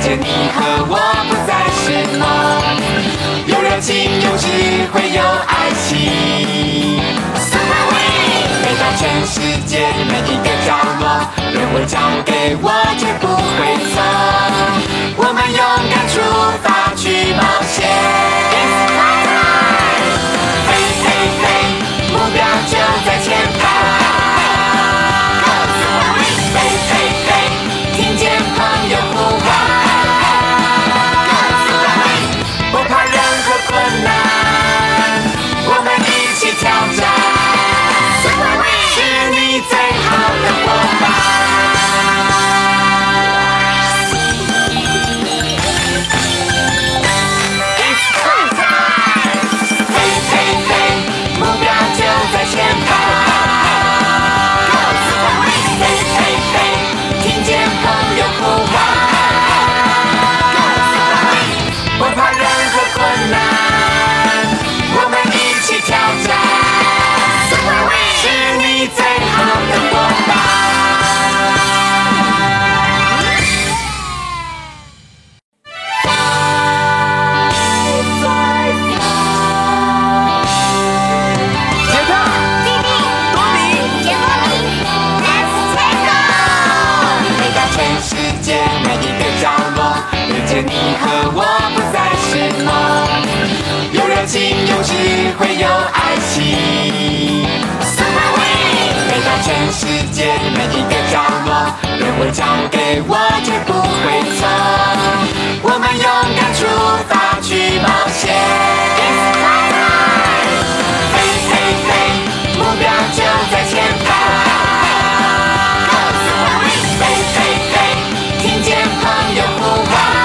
着你和我不再是夢，有熱情，有智慧，有愛情。Superwings，飛到全世界每一個角落，任務交給我，絕不會錯。我們勇敢出發去冒險。It's fly time，飛飛飛，目標就在前方。有智慧，有愛情。Superwings，飛到全世界每一個角落，任務交給我，絕不會錯。我們勇敢出發去冒險。It's fly time，飛飛飛，目標就在前方。飛飛飛，聽見朋友呼喚。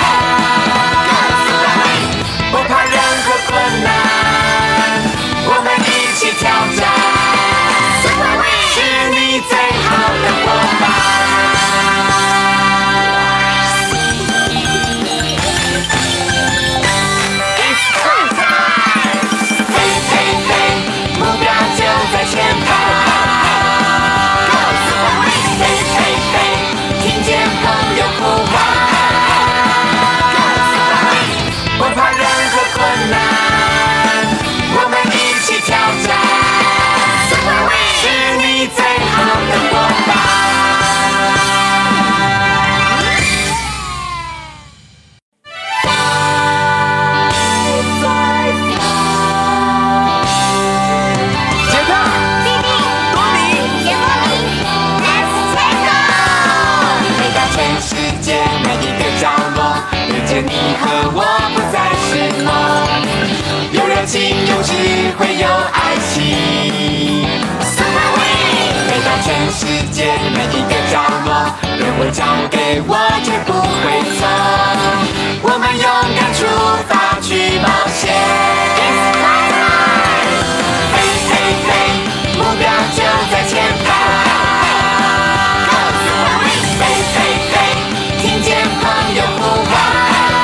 你和我不再是夢，有熱情，有智慧，有愛情。Superwings，飛到全世界每一個角落，任務交給我，絕不會錯。我們勇敢出發去冒險。It's fly time，飛飛飛，目標就在前方。飛飛飛，聽見朋友呼喚。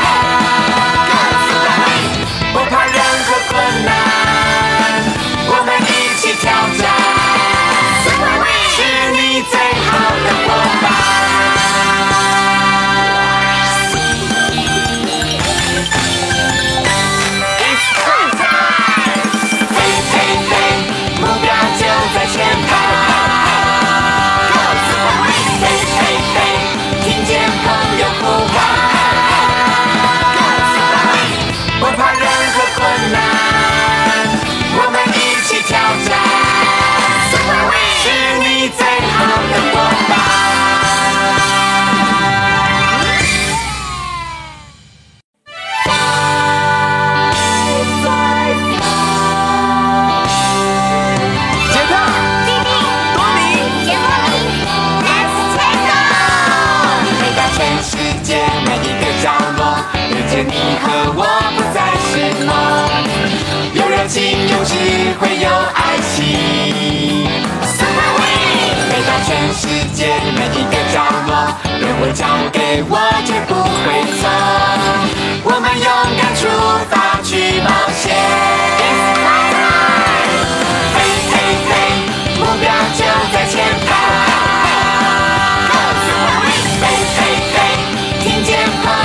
你和我不再是夢，有熱情，有智慧，有愛情。Superwings，飛到全世界每一個角落，任務交給我，絕不會錯。我們勇敢出發去冒險。It's fly time，飛飛飛，目標就在前方。飛飛飛，聽見朋友。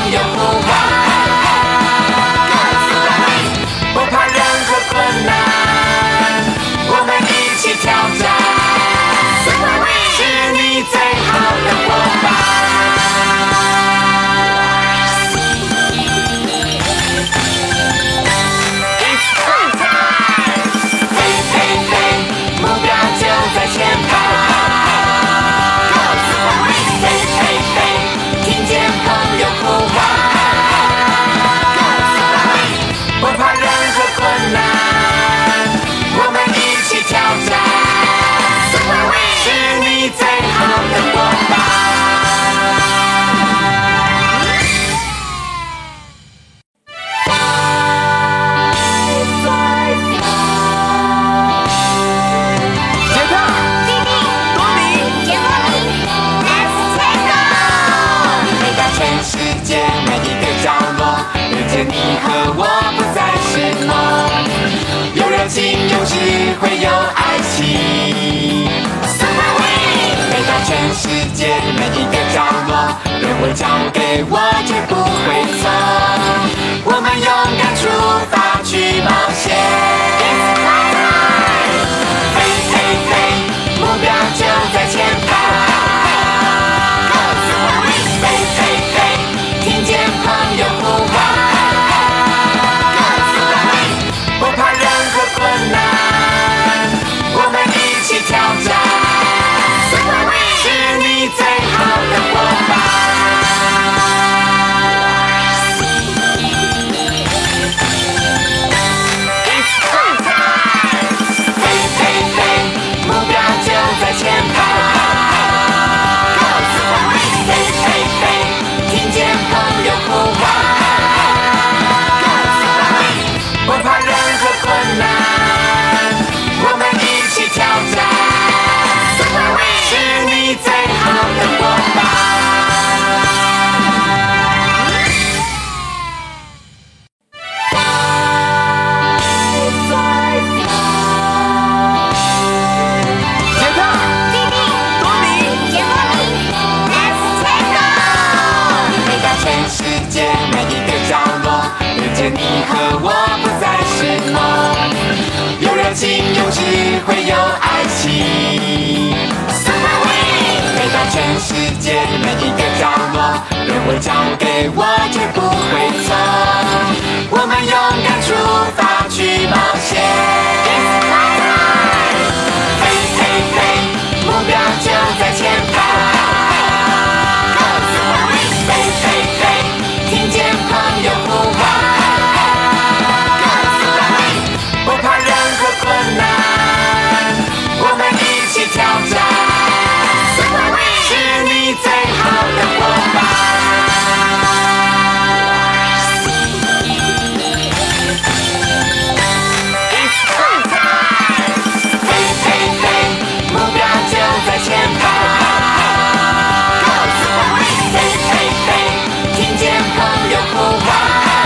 界每一個角落，遇見你和我不再是夢，有熱情，有智慧，有愛心。Superwing，飛到全世界每一個角落，任務交給我，絕不會錯。我們勇敢出發去冒險。目標就在前方，飛飛飛，聽見朋友呼喚，不怕任何困難，我們一起挑戰，是你最好的夥伴。前方，飛飛飛，聽見朋友呼喚，不怕任何困難，我們一起挑戰，是你最好的夥伴。你和我不再是夢，有熱情，有智慧，有愛心。Superwing，飛到全世界每一個角落，任務交給我，絕不會錯。我們勇敢出發去冒險。飛飛飛，目標就在前方。飛飛飛，聽見朋友呼喚。我們一起挑戰，是你最好的夥伴。飛飛飛，目標就在前方。飛飛飛，聽見朋友呼喚，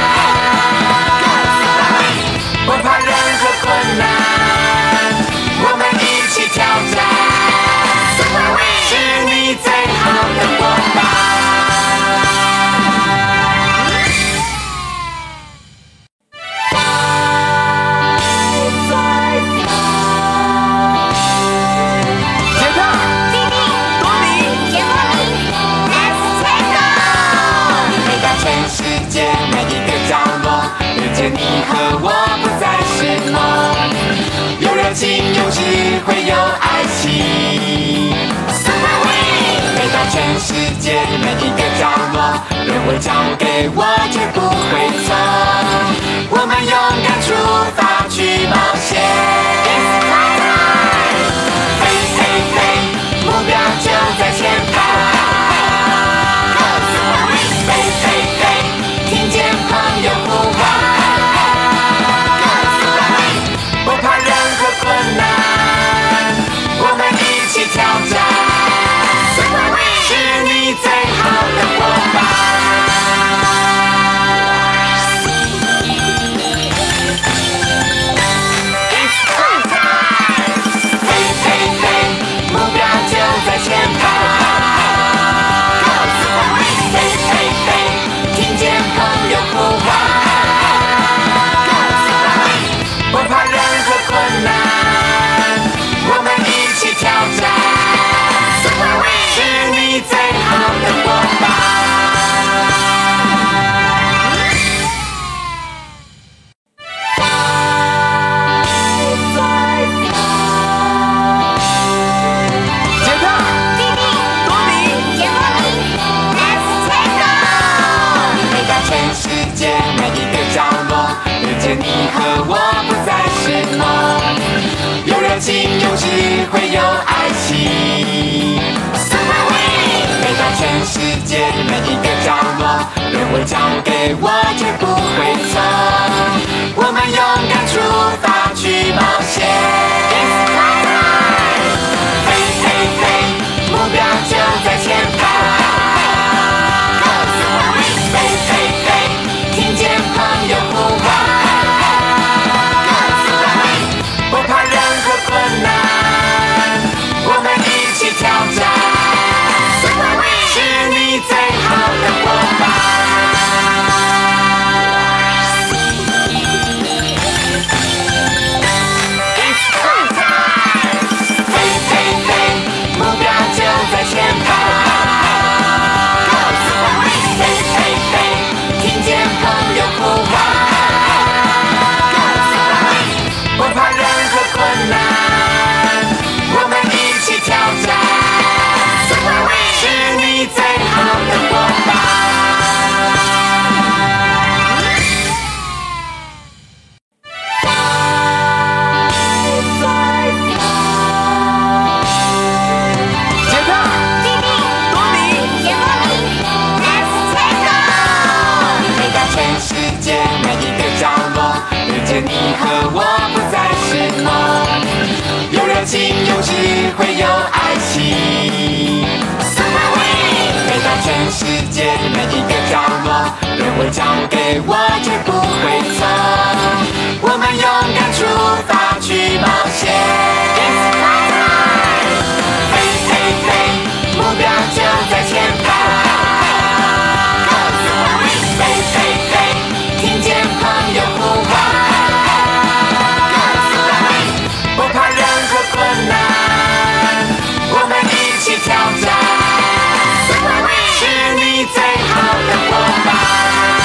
不怕任何困難。挑戰，是你最好的夥伴。杰克、弟弟、多米、杰莫里 ，Let's take off！飛到全世界每一個角落，遇見你和我不再是夢，有熱情，有智慧，有愛心。Superwing，飛到全世界每一個角落，任務交給我，絕不會錯。我們勇敢出發去冒險。飛飛飛，目標就在前方。飛飛飛，聽見朋友呼喚。不怕任何困難，我們一起挑戰，是你最好的夥伴。飛飛飛，目標就在前方。飛飛飛，聽見朋友呼喚。不怕任何困難，我們一起挑戰，是你最好的夥伴。杰克、弟弟、多米、杰莫里 ，Let's take off！飛到全世界每一個角落，遇見你和我不再是夢，有熱情，有智慧，有愛心。Superwing，飛到全世界每一個角落，任務交給我，絕不會錯。我們勇敢出發去冒險。飛飛飛，目標就在前方。飛着你和我不再是夢，有熱情，有智慧，有愛心。Superwing，飛到全世界每一個角落，任務交給我，絕不會錯。我們勇敢出發去冒險。飛飛飛，目標就在前排。飛飛飛，聽見朋友呼喚。不怕任何困難，我們一起挑戰。是你最好的夥伴。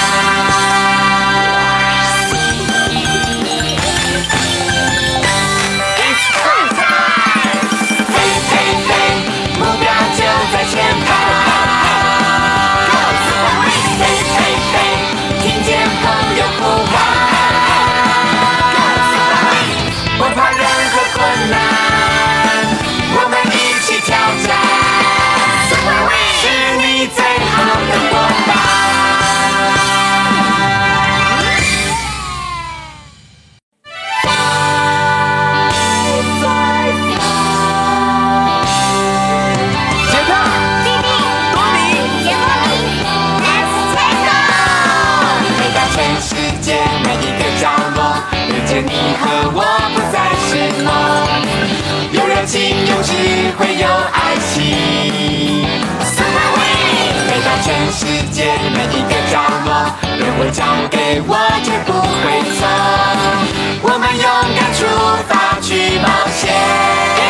你和我不再是夢，有熱情，有智慧，有愛心。Superwing，飛到全世界每一個角落，任務交給我，絕不會錯。我們勇敢出發去冒險。